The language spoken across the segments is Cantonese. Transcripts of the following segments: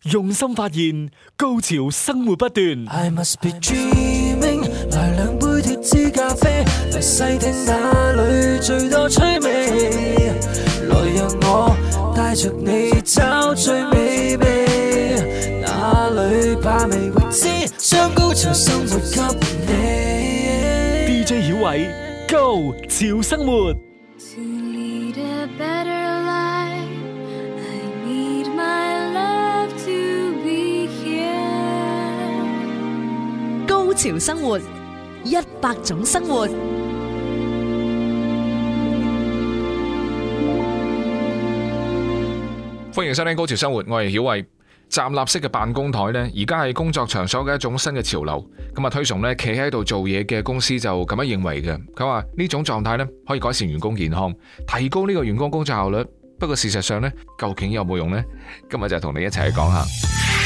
用心發現，高潮生活不斷。 I must be dreaming， 來兩杯脫脂咖啡，來細聽哪裏最多趣味，來讓我帶着你找最美味，哪裏把味未知，將高潮生活給你。 DJ 曉偉，Go 潮生活。 高潮生活，100種生活。 歡迎收聽高潮生活，我係曉偉。站立式嘅辦公台呢，而家係工作場所嘅一種新嘅潮流。咁啊，推崇呢企喺度做嘢嘅公司就咁樣認為嘅。佢話呢種狀態呢可以改善員工健康，提高呢個員工工作效率。不過事實上呢，究竟有冇用呢？今日就同你一齊去講下。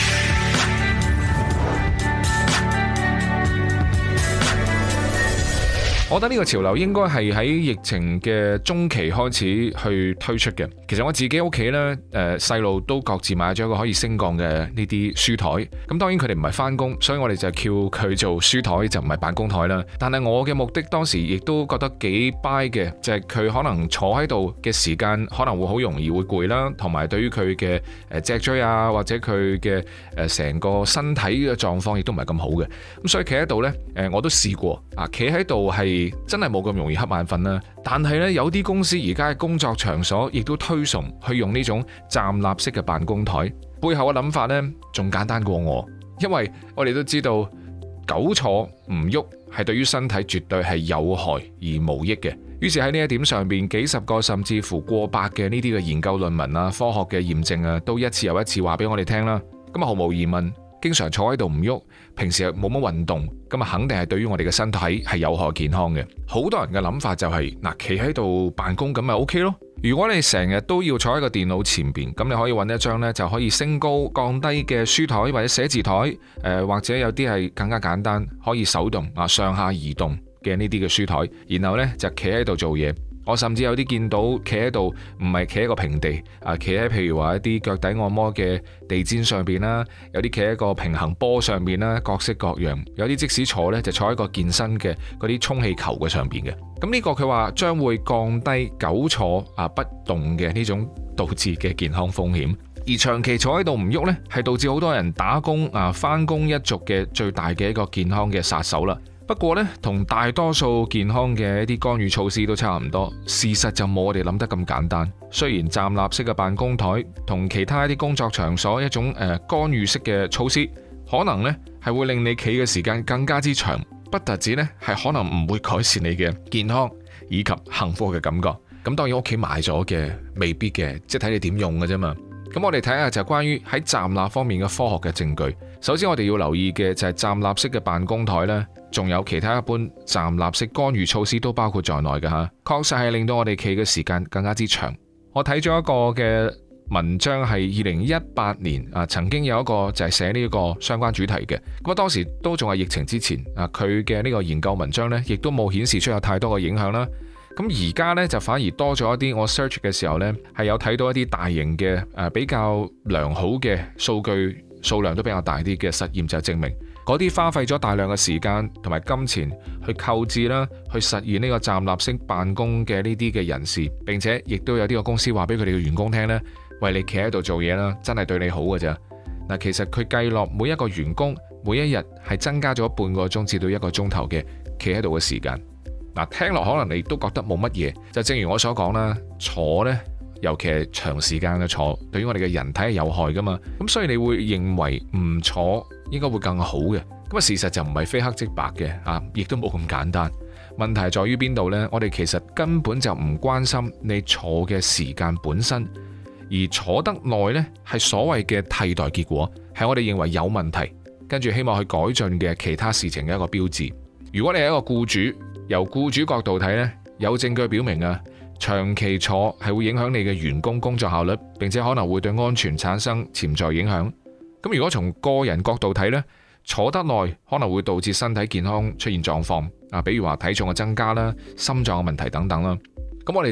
我覺得呢個潮流應該係喺疫情嘅中期開始去推出嘅。其實我自己屋企呢，細路都各自買咗一個可以升降嘅呢啲書台。咁當然佢哋唔係返工，所以我哋就叫佢做書台，就唔係辦公台啦。但係我嘅目的當時亦都覺得幾 buy 嘅，就係佢可能坐喺度嘅時間可能會好容易會攰啦，同埋對於佢嘅脊椎啊或者佢嘅成個身體嘅狀況亦都唔係咁好嘅。咁所以企喺度呢，我都試過啊，企喺度係真係冇咁容易瞌眼瞓啦，但係呢，有啲公司而家嘅工作場所亦都推崇去用呢種站立式嘅辦公台，背後嘅諗法呢，仲簡單過我，因為我哋都知道久坐唔喐係對於身體絕對係有害而無益嘅。於是喺呢一點上邊，幾十個甚至乎過百嘅呢啲嘅研究論文啊、科學嘅驗證啊，都一次又一次話俾我哋聽啦。咁啊，毫無疑問，經常坐喺度唔喐，平時又冇乜運動，咁啊肯定係對於我哋嘅身體係有害健康嘅。好多人嘅諗法就係嗱，企喺度辦公咁咪 OK 咯。如果你成日都要坐喺個電腦前邊，咁你可以揾一張呢就可以升高降低嘅書台或者寫字台，或者有啲係更加簡單可以手動啊上下移動嘅呢啲嘅書台，然後呢就企喺度做嘢。我甚至有啲見到企喺度唔係企喺個平地啊，企喺譬如話一啲腳底按摩嘅地氈上邊啦，有啲企喺個平衡波上邊啦，各式各樣。有啲即使坐呢，就坐喺個健身嘅嗰啲充氣球嘅上邊嘅。咁呢個佢話將會降低久坐不動嘅呢種導致嘅健康風險，而長期坐喺度唔喐呢，係導致好多人打工返工一族嘅最大嘅一個健康嘅殺手啦。不過呢，同大多數健康嘅一啲干預措施都差唔多，事實就冇我哋諗得咁簡單。雖然站立式嘅辦公台同其他一啲工作場所一種干預式嘅措施，可能呢係會令你企嘅時間更加之長，不特止呢係可能唔會改善你嘅健康以及幸福嘅感覺。咁當然屋企買咗嘅未必嘅，即係睇你點用嘅啫嘛。咁我哋睇下就關於喺站立方面嘅科學嘅證據。首先我哋要留意嘅就係站立式嘅辦公台呢，仲有其他一般站立式干預措施都包括在內嘅吓，確實係令到我哋企嘅時間更加之長。我睇咗一個嘅文章係2018年曾經有一個就係寫呢個相關主題嘅。咁當時都仲係疫情之前佢嘅呢個研究文章呢，亦都冇顯示出有太多嘅影響啦。咁而家呢，就反而多咗一啲，我 search 嘅時候呢，係有睇到一啲大型嘅比較良好嘅數據，數量都比較大啲嘅實驗，就證明嗰啲花費咗大量嘅時間同埋金錢去購置啦，去實現呢個站立式辦公嘅呢啲嘅人士，並且亦都有呢個公司話俾佢哋嘅員工聽呢，喂，你企喺度做嘢啦，真係對你好嘅咋。嗱，其實佢計落每一個員工每一日係增加咗半個鐘至到1個鐘頭嘅企喺度嘅時間。嗱，聽落可能你都覺得冇乜嘢，就正如我所講啦，坐呢，尤其係長時間嘅坐，對於我哋嘅人體係有害噶嘛，咁所以你會認為唔坐應該會更好嘅，咁啊事實就唔係非黑即白嘅，亦都冇咁簡單。問題在於邊度呢？我哋其實根本就唔關心你坐嘅時間本身，而坐得耐呢係所謂嘅替代結果，係我哋認為有問題，跟住希望去改進嘅其他事情嘅一個標誌。如果你係一個僱主，由僱主角度睇呢，有證據表明長期坐係會影響你嘅員工工作效率，並且可能會對安全產生潛在影響。咁如果從個人角度睇呢，坐得耐可能會導致身體健康出現狀況，比如話體重嘅增加啦、心臟嘅問題等等啦。咁我哋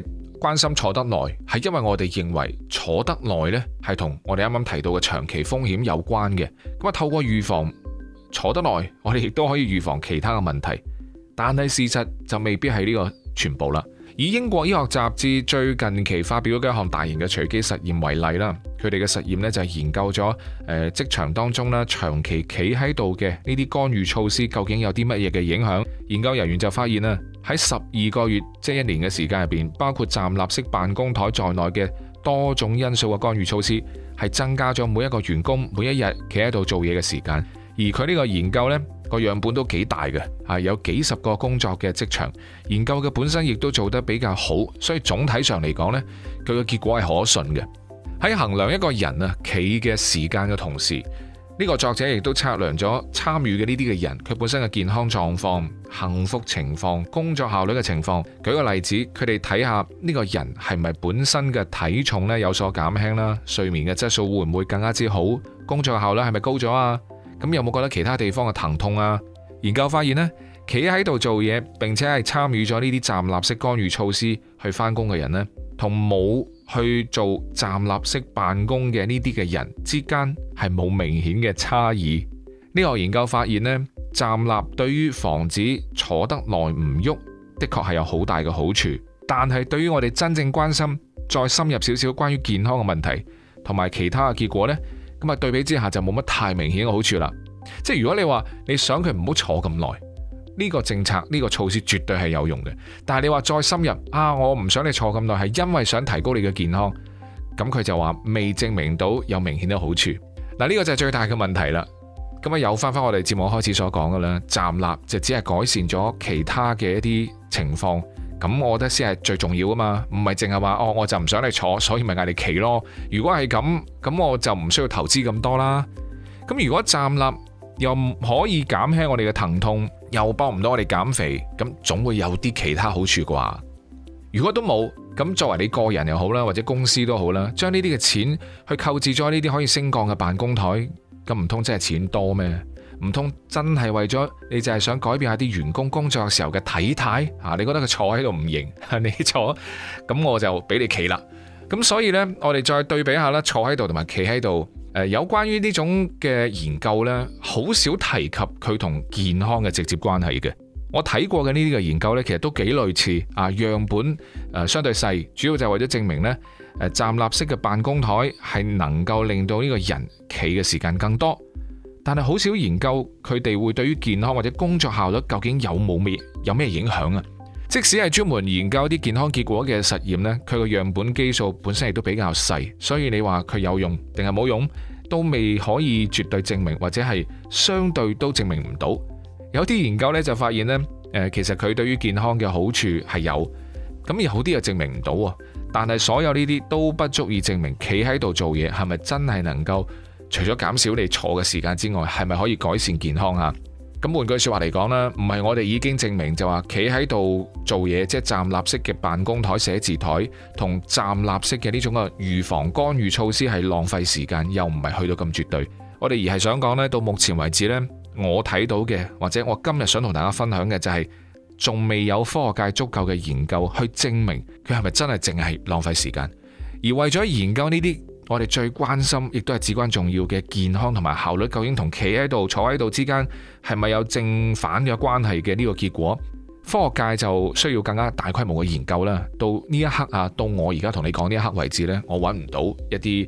關心坐得耐，係因為我哋認為坐得耐呢係同我哋啱啱提到嘅長期風險有關嘅。咁啊，透過預防坐得耐，我哋亦都可以預防其他嘅問題。但係事實就未必係呢個全部啦。以英國醫學雜誌最近期發表嘅一項大型嘅隨機實驗為例啦，佢哋嘅實驗呢就係研究咗職場當中啦，長期企喺度嘅呢啲干預措施究竟有啲乜嘢嘅影響。研究人員就發現啦，喺12個月即係1年嘅時間入邊，包括站立式辦公台在內嘅多種因素嘅干預措施係增加咗每一個員工每一日企喺度做嘢嘅時間。而佢呢個研究呢個樣本都幾大嘅，有幾十個工作嘅職場，研究嘅本身亦都做得比較好，所以總體上嚟講呢，佢嘅結果係可信嘅。喺衡量一個人企嘅時間嘅同時，呢個作者亦都測量咗參與嘅呢啲嘅人佢本身嘅健康狀況、幸福情況、工作效率嘅情況。舉個例子，佢哋睇下呢個人係咪本身嘅體重呢有所減輕啦，睡眠嘅質素會唔會更加之好，工作效率係咪高咗啊？咁有冇覺得其他地方嘅疼痛啊？研究發現呢，企喺度做嘢並且係參與咗呢啲站立式干預措施去返工嘅人呢，同冇去做站立式辦公嘅呢啲嘅人之間係冇明顯嘅差異。呢個研究發現呢，站立對於防止坐得耐唔喐，的確係有好大嘅好處。但係對於我哋真正關心再深入少少關於健康嘅問題同埋其他嘅結果呢，咁啊對比之下就冇乜太明顯嘅好處啦。即係如果你話你想佢唔好坐咁耐，呢個政策呢個措施絕對係有用嘅。但係你話再深入我唔想你坐咁耐，係因為想提高你嘅健康，咁佢就話未證明到有明顯嘅好處。嗱，呢個就係最大嘅問題啦。咁啊又翻我哋節目開始所講嘅啦，站立就只係改善咗其他嘅一啲情況，咁我覺得先係最重要啊嘛，唔係淨係話我就唔想你坐，所以咪嗌你企咯。如果係咁我就唔需要投資咁多啦。咁如果站立又可以減輕我哋嘅疼痛，又幫唔到我哋減肥，咁總會有啲其他好處啩。如果都冇，咁作為你個人又好啦，或者公司都好啦，將呢啲嘅錢去購置咗呢啲可以升降嘅辦公台，咁唔通真係錢多咩？唔通真係為咗你就係想改變下啲員工工作嘅時候嘅體態啊？你覺得佢坐喺度唔型，你坐，咁我就俾你企啦。咁所以呢，我哋再對比下啦，坐喺度同埋企喺度。有關於呢種嘅研究呢，好少提及佢同健康嘅直接關係嘅。我睇過嘅呢啲嘅研究呢，其實都幾類似樣本相對細，主要就係為咗證明呢，站立式嘅辦公台係能夠令到呢個人企嘅時間更多，但係好少研究佢哋會對於健康或者工作效率究竟有咩影響啊？即使係專門研究啲健康結果嘅實驗呢，佢個樣本基數本身亦都比較細，所以你話佢有用定係冇用，都未可以絕對證明，或者係相對都證明唔到。有啲研究呢就發現呢，其實佢對於健康嘅好處係有，咁有啲又證明唔到。但係所有呢啲都不足以證明企喺度做嘢係咪真係能夠除咗減少你坐嘅時間之外，係咪可以改善健康啊？咁換句說話嚟講啦，唔係我哋已經證明就話企喺度做嘢，即係站立式嘅辦公台、寫字台同站立式嘅呢種嘅預防干預措施係浪費時間，又唔係去到咁絕對。我哋而係想講呢，到目前為止呢，我睇到嘅或者我今日想同大家分享嘅就係，仲未有科學界足夠嘅研究去證明佢係咪真係淨係浪費時間。而為咗研究呢啲我哋最關心亦都係至關重要嘅健康同埋效率，究竟同企喺度坐喺度之間係咪有正反嘅關係嘅呢個結果，科學界就需要更加大規模嘅研究啦。到呢一刻到我而家同你講呢一刻為止呢，我揾唔到一啲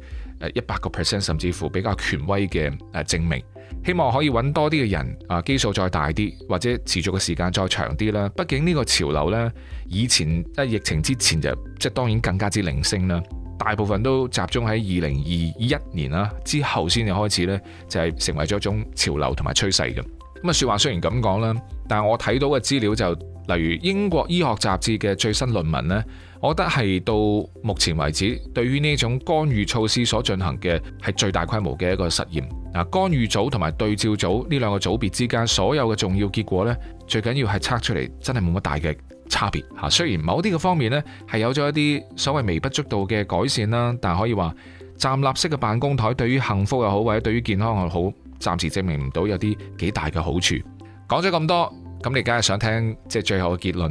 100% 甚至乎比較權威嘅證明。希望可以揾多啲嘅人基數再大啲，或者持續嘅時間再長啲啦。畢竟呢個潮流呢，以前疫情之前就即係當然更加之零星啦。大部分都集中喺2021年啦之後先至開始呢，就係成為咗一種潮流同埋趨勢嘅。咁說話雖然咁講啦，但係我睇到嘅資料就例如英國醫學雜誌嘅最新論文呢，我覺得係到目前為止對於呢種干預措施所進行嘅係最大規模嘅一個實驗。干預組同埋對照組呢兩個組別之間所有嘅重要結果呢，最緊要係測出嚟真係冇乜大嘅差別嚇。雖然某啲嘅方面呢係有咗一啲所謂微不足道嘅改善啦，但可以話站立式嘅辦公台對於幸福又好，或者對於健康又好，暫時證明唔到有啲幾大嘅好處。講咗咁多，咁你梗係想聽即係最後嘅結論啦。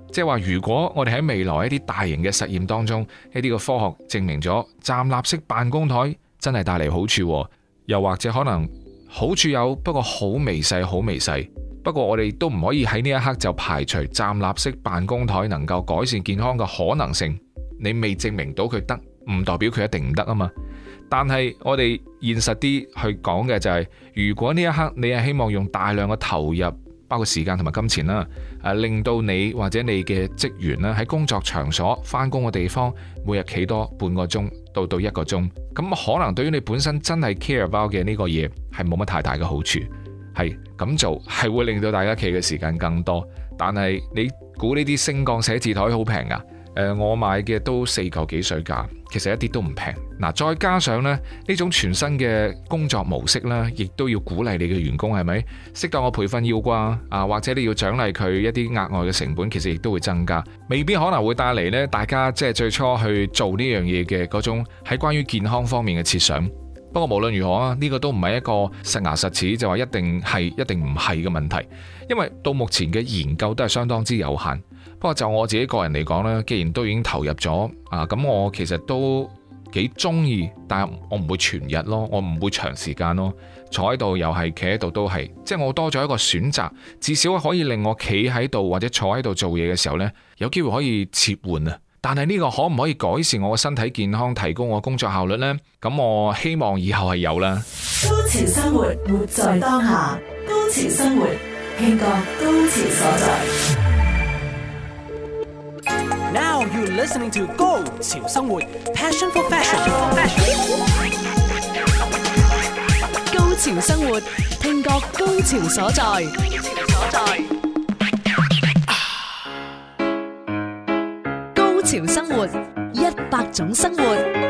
即係話如果我哋喺未來一啲大型嘅實驗當中，一啲嘅科學證明咗站立式辦公台真係帶嚟好處，又或者可能好處有，不過好微細好微細。不過我哋都唔可以喺呢一刻就排除站立式辦公台能夠改善健康嘅可能性。你未證明到佢得，唔代表佢一定唔得啊嘛。但係我哋現實啲去講嘅就係，如果呢一刻你係希望用大量嘅投入，包括時間同埋金錢啦，令到你或者你嘅職員啦喺工作場所返工嘅地方，每日企多半個鐘到1個鐘，咁可能對於你本身真係 care about 嘅呢個嘢係冇乜太大嘅好處。係咁做係會令到大家企嘅時間更多，但係你估呢啲升降寫字台好平㗎？我買嘅都4嚿幾水價，其實一啲都唔平。嗱，再加上呢種全新嘅工作模式啦，亦都要鼓勵你嘅員工，係咪？適當嘅培訓要啩啊，或者你要獎勵佢一啲額外嘅成本，其實亦都會增加，未必可能會帶嚟呢大家即係最初去做呢樣嘢嘅嗰種喺關於健康方面嘅設想。不過無論如何啊，呢個都唔係一個實牙實齒就話一定係一定唔係嘅問題，因為到目前嘅研究都係相當之有限。不過就我自己個人嚟講咧，既然都已經投入咗啊，咁我其實都幾中意，但係我唔會全日咯，我唔會長時間咯，坐喺度又係企喺度都係，即係我多咗一個選擇，至少可以令我企喺度或者坐喺度做嘢嘅時候呢，有機會可以切換啊。但係呢個可唔可以改善我嘅身體健康，提高我工作效率呢？咁我希望以後係有啦。 高潮生活，活在當下。高潮生活，慶個高潮所在。 Now you're listening to 高潮生活 Passion for Fashion。 高潮生活，聽覺高潮所在。高潮生活，100種生活。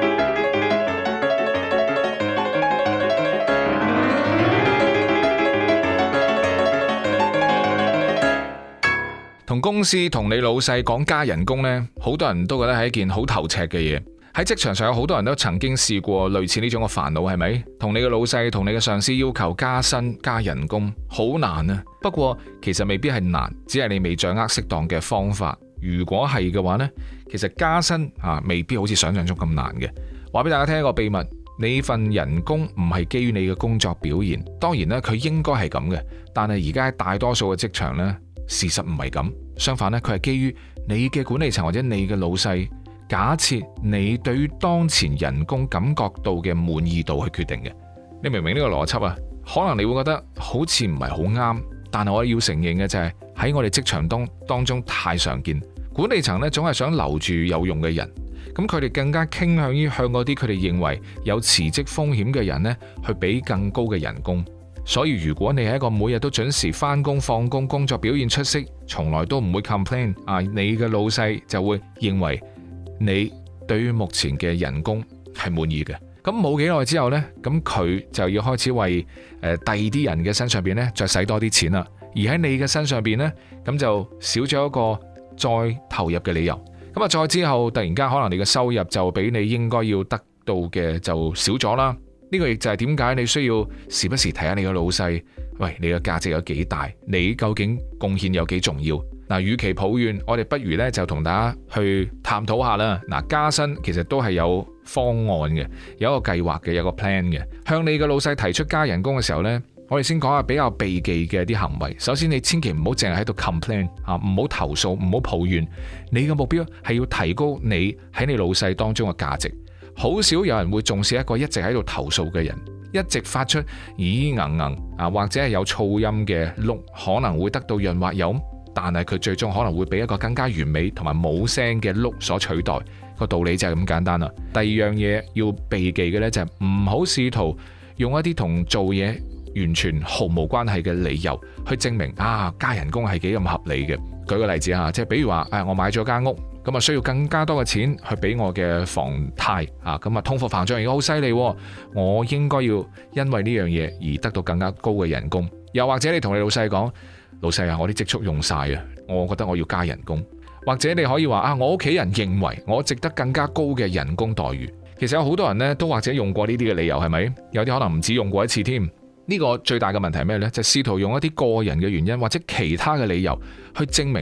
同公司同你老細講加人工呢，好多人都覺得係一件好頭赤嘅嘢。喺職場上有好多人都曾經試過類似呢種嘅煩惱，係咪？同你嘅老細同你嘅上司要求加薪加人工，好難啊。不過其實未必係難，只係你未掌握適當嘅方法。如果係嘅話呢，其實加薪未必好似想象中咁難嘅。話俾大家聽一個秘密，你份人工唔係基於你嘅工作表現，當然咧佢應該係咁嘅，但係而家喺大多數嘅職場呢，事實唔係咁，相反咧，佢係基於你嘅管理層或者你嘅老細，假設你對於當前人工感覺到嘅滿意度去決定嘅。你明唔明呢個邏輯啊？可能你會覺得好似唔係好啱，但係我要承認嘅就係喺我哋職場當中太常見，管理層咧總係想留住有用嘅人，咁佢哋更加傾向於向嗰啲佢哋認為有辭職風險嘅人咧去俾更高嘅人工。所以如果你係一個每日都準時返工放工，工作表現出色，從來都唔會 complain 你嘅老細就會認為你對於目前嘅人工係滿意嘅。咁冇幾耐之後呢，咁佢就要開始為第二啲人嘅身上邊呢再使多啲錢啦。而喺你嘅身上邊呢，咁就少咗一個再投入嘅理由。咁啊，再之後突然間可能你嘅收入就比你應該要得到嘅就少咗啦。呢個亦就係點解你需要時不時睇下你嘅老細，喂，你嘅價值有幾大，你究竟貢獻有幾重要？嗱，與其抱怨，我哋不如呢就同大家去探討下啦。嗱，加薪其實都係有方案嘅，有一個計劃嘅，有個 plan 嘅。向你嘅老細提出加人工嘅時候呢，我哋先講下比較避忌嘅啲行為。首先，你千祈唔好淨係喺度 complain 唔好投訴，唔好抱怨。你嘅目標係要提高你喺你老細當中嘅價值。好少有人會重視一個一直喺度投訴嘅人，一直發出咦或者係有噪音嘅碌，可能會得到潤滑油，但係佢最終可能會俾一個更加完美同埋冇聲嘅碌所取代。個道理就係咁簡單啦。第二樣嘢要避忌嘅呢，就係唔好試圖用一啲同做嘢完全毫無關係嘅理由去證明加人工係幾咁合理嘅。舉個例子即係比如話我買咗間屋，咁需要更加多嘅錢去俾我嘅房貸咁通貨膨脹而家好犀利，我應該要因為呢樣嘢而得到更加高嘅人工。又或者你同你老細講，老細我啲積蓄用晒我覺得我要加人工。或者你可以話我屋企人認為我值得更加高嘅人工待遇。其實有好多人呢都或者用過呢啲嘅理由，係咪？有啲可能唔止用過一次添。呢個最大嘅問題係咩呢？就試圖用一啲個人嘅原因或者其他嘅理由去證明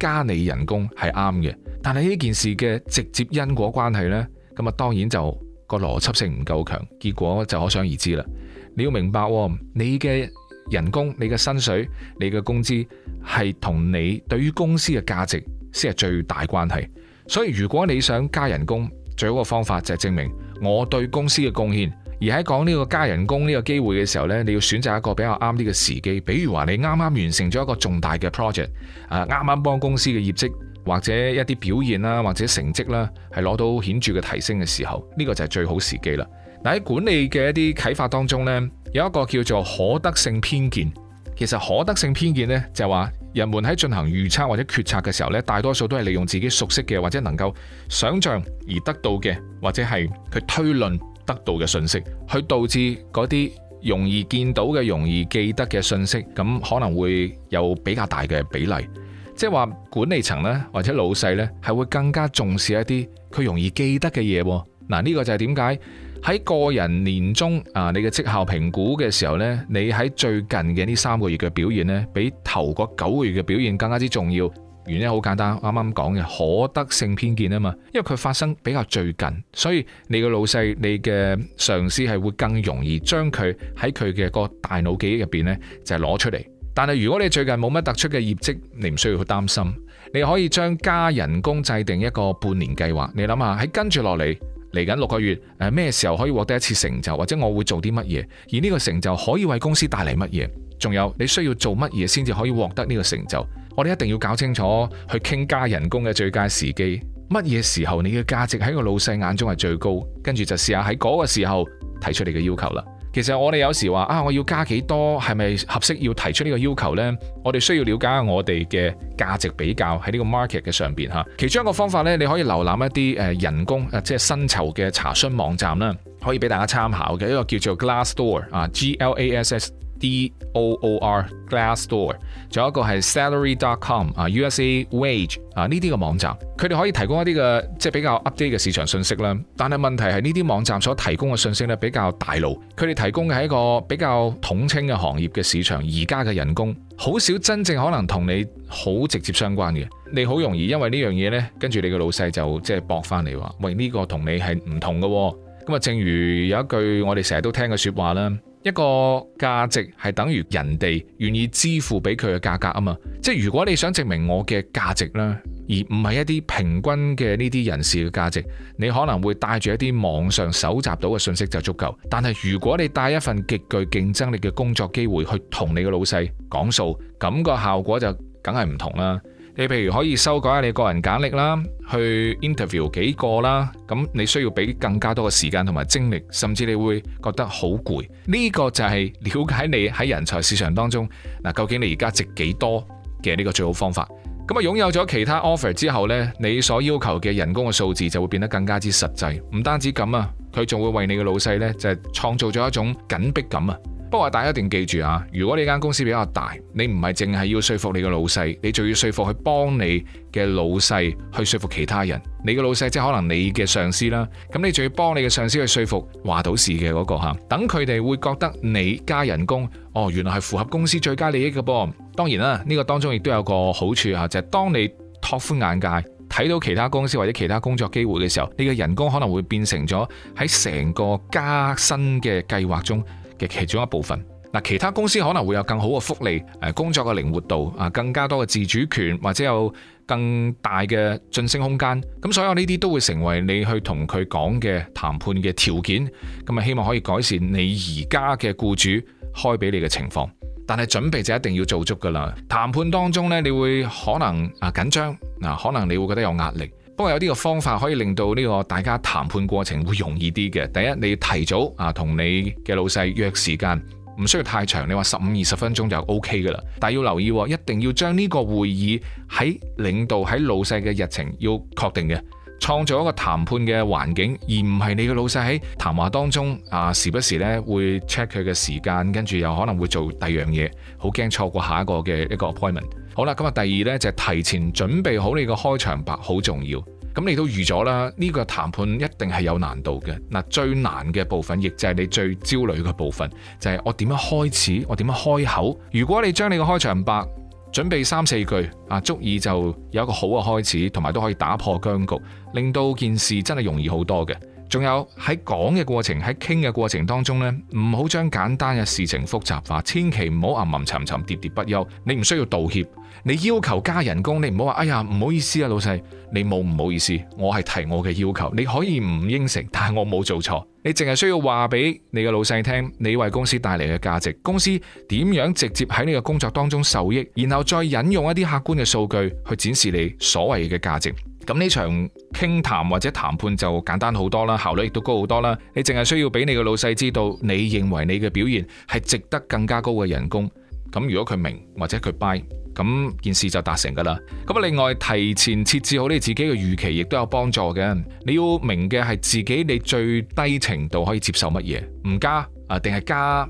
加你人工係啱嘅，但係呢件事嘅直接因果關係呢，咁啊當然就個邏輯性唔夠強，結果就可想而知啦。你要明白，你嘅人工、你嘅薪水、你嘅工資係同你對於公司嘅價值先係最大關係。所以如果你想加人工，最好嘅方法就係證明我對公司嘅貢獻。而喺講呢個加人工呢個機會嘅時候呢，你要選擇一個比較啱啲嘅時機。比如話你啱啱完成咗一個重大嘅 project， 啱啱幫公司嘅業績或者一啲表現啦，或者成績啦，係攞到顯著嘅提升嘅時候，呢個就係最好時機啦。嗱，喺管理嘅一啲啟發當中呢，有一個叫做可得性偏見。其實可得性偏見呢，就係話人們喺進行預測或者決策嘅時候呢，大多數都係利用自己熟悉嘅或者能夠想像而得到嘅，或者係佢推論得到嘅信息，去導致嗰啲容易見到嘅、容易記得嘅信息，咁可能會有比較大嘅比例。即係話管理層呢，或者老細呢，係會更加重視一啲佢容易記得嘅嘢。嗱，呢個就係點解喺個人年終你嘅績效評估嘅時候呢，你喺最近嘅呢3個月嘅表現呢，比頭嗰9個月嘅表現更加之重要。原因好簡單，啱啱講嘅可得性偏見啊嘛，因為佢發生比較最近，所以你嘅老細、你嘅上司係會更容易將佢喺佢嘅個大腦記憶入邊呢，就係攞出嚟。但係如果你最近冇乜突出嘅業績，你唔需要去擔心，你可以將加人工制定一個半年計劃。你諗下喺跟住落嚟嚟緊6個月，咩時候可以獲得一次成就，或者我會做啲乜嘢，而呢個成就可以為公司帶嚟乜嘢，仲有你需要做乜嘢先至可以獲得呢個成就。我哋一定要搞清楚去傾加人工嘅最佳時機，乜嘢時候你嘅價值喺個老細眼中係最高，跟住就試下喺嗰個時候提出你嘅要求啦。其實我哋有時話我要加幾多，係咪合適要提出呢個要求呢？我哋需要了解下我哋嘅價值比較喺呢個 market 嘅上邊吓。其中一個方法呢，你可以瀏覽一啲人工即係薪酬嘅查詢網站啦，可以俾大家參考嘅一個叫做 Glassdoor GLASSDOOR Glassdoor， 仲有一個係 Salary.com USA Wage 呢啲嘅網站，佢哋可以提供一啲嘅即係比較 update 嘅市場信息啦。但係問題係呢啲網站所提供嘅信息咧比較大路，佢哋提供嘅係一個比較統稱嘅行業嘅市場，而家嘅人工好少真正可能同你好直接相關嘅。你好容易因為呢樣嘢呢，跟住你嘅老細就即係駁翻嚟話，喂，呢個同你係唔同嘅。咁啊，正如有一句我哋成日都聽嘅說話啦。一個價值係等於人哋願意支付俾佢嘅價格啊嘛，即係如果你想證明我嘅價值啦，而唔係一啲平均嘅呢啲人士嘅價值，你可能會帶住一啲網上搜集到嘅信息就足夠。但係如果你帶一份極具競爭力嘅工作機會去同你嘅老細講數，咁個效果就梗係唔同啦。你譬如可以修改下你個人簡歷啦，去 interview 幾個啦，咁你需要俾更加多嘅時間同埋精力，甚至你會覺得好攰。呢個就係了解你喺人才市場當中究竟你而家值幾多嘅呢個最好方法。咁啊，擁有咗其他 offer 之後呢，你所要求嘅人工嘅數字就會變得更加之實際。唔單止咁啊，佢仲會為你嘅老細呢，就係創造咗一種緊迫感啊。不過大家一定記住啊，如果你間公司比較大，你唔係淨係要說服你嘅老細，你仲要說服去幫你嘅老細去說服其他人。你嘅老細即係可能你嘅上司啦，咁你仲要幫你嘅上司去說服話到事嘅嗰個吓，等佢哋會覺得你加人工，原來係符合公司最佳利益嘅噃。當然啦，呢個當中亦都有個好處啊，就係當你拓寬眼界，睇到其他公司或者其他工作機會嘅時候，你嘅人工可能會變成咗喺成個加薪嘅計劃中嘅其中一部分。其他公司可能會有更好嘅福利，工作嘅靈活度，更加多嘅自主權，或者有更大嘅晉升空間。咁所有呢啲都會成為你去同佢講嘅談判嘅條件。咁啊，希望可以改善你而家嘅僱主開俾你嘅情況。但係準備就一定要做足噶啦。談判當中呢，你會可能緊張，可能你會覺得有壓力。不過有啲個方法可以令到呢個大家談判過程會容易啲嘅。第一，你要提早同你嘅老細約時間，唔需要太長，你話15-20分鐘就 OK 噶啦。但係要留意，一定要將呢個會議喺領導喺老細嘅日程要確定嘅，創造一個談判嘅環境，而唔係你嘅老細喺談話當中時不時咧會 check 佢嘅時間，跟住又可能會做第二樣嘢，好驚錯過下一個嘅一個 appointment。好啦，咁第二呢，就係提前準備好你個開場白，好重要。咁你都預咗啦，呢個談判一定係有難度嘅。最難嘅部分，亦就係你最焦慮嘅部分，就係我點樣開始，我點樣開口。如果你將你個開場白準備3-4句啊，足以就有一個好嘅開始，同埋都可以打破僵局，令到件事真係容易好多嘅。仲有喺講嘅過程，喺傾嘅過程當中呢，唔好將簡單嘅事情複雜化，千祈唔好吟吟沉沉、喋喋不休。你唔需要道歉，你要求加人工，你唔好話哎呀唔好意思啊老細，你冇唔好意思，我係提我嘅要求，你可以唔應承，但係我冇做錯。你淨係需要話俾你嘅老細聽，你為公司帶嚟嘅價值，公司點樣直接喺你嘅工作當中受益，然後再引用一啲客觀嘅數據去展示你所謂嘅價值。咁呢場傾談或者談判就簡單好多啦，效率亦都高好多啦。你淨係需要俾你嘅老細知道，你認為你嘅表現係值得更加高嘅人工。咁如果佢明或者佢 buy，咁件事就達成噶啦。咁另外提前設置好你自己嘅預期，亦都有幫助嘅。你要明嘅係自己你最低程度可以接受乜嘢，唔加定係加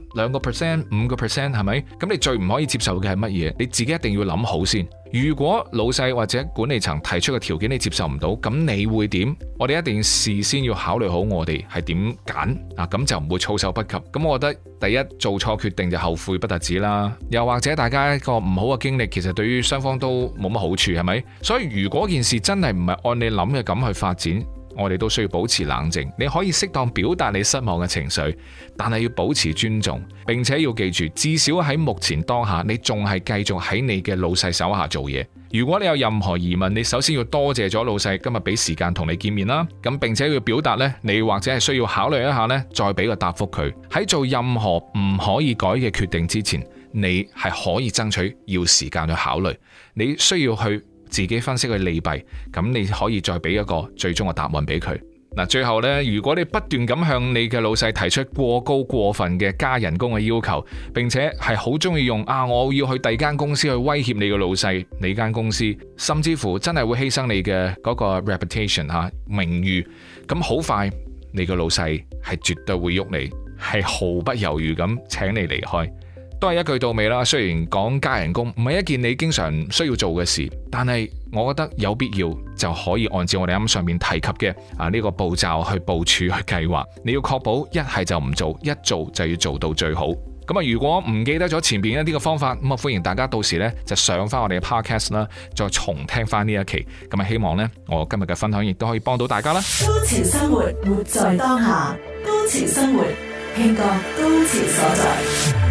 2%、5%係咪？咁你最唔可以接受嘅係乜嘢？你自己一定要諗好先。如果老細或者管理層提出嘅條件你接受唔到，咁你會點？我哋一定事先要考慮好我哋係點揀啊，咁就唔會措手不及。咁我覺得第一，做錯決定就後悔不特止啦，又或者大家一個唔好嘅經歷，其實對於雙方都冇乜好處，係咪？所以如果件事真係唔係按你諗嘅咁去發展，我哋都需要保持冷靜。你可以適當表達你失望嘅情緒，但係要保持尊重，並且要記住，至少喺目前當下，你仲係繼續喺你嘅老細手下做嘢。如果你有任何疑問，你首先要多謝咗老細今日俾時間同你見面啦，咁並且要表達呢，你或者係需要考慮一下呢，再俾個答覆佢。喺做任何唔可以改嘅決定之前，你係可以爭取要時間去考慮，你需要去自己分析佢利弊，咁你可以再俾一個最終嘅答案俾佢。嗱，最後呢，如果你不斷咁向你嘅老細提出過高過分嘅加人工嘅要求，並且係好中意用我要去第二間公司去威脅你嘅老細，你間公司甚至乎真係會犧牲你嘅嗰個 reputation 名譽，咁好快你嘅老細係絕對會喐你，係毫不猶豫咁請你離開。都係一句到尾啦，雖然講加人工唔係一件你經常需要做嘅事，但係我覺得有必要就可以按照我哋啱上面提及嘅呢個步驟去部署去計劃。你要確保一係就唔做，一做就要做到最好。咁如果唔記得咗前邊一啲嘅方法，咁歡迎大家到時呢就上翻我哋嘅 podcast 啦，再重聽翻呢一期。咁希望呢我今日嘅分享亦都可以幫到大家啦。 高潮生活，活在當下。高潮生活，慶個高潮所在。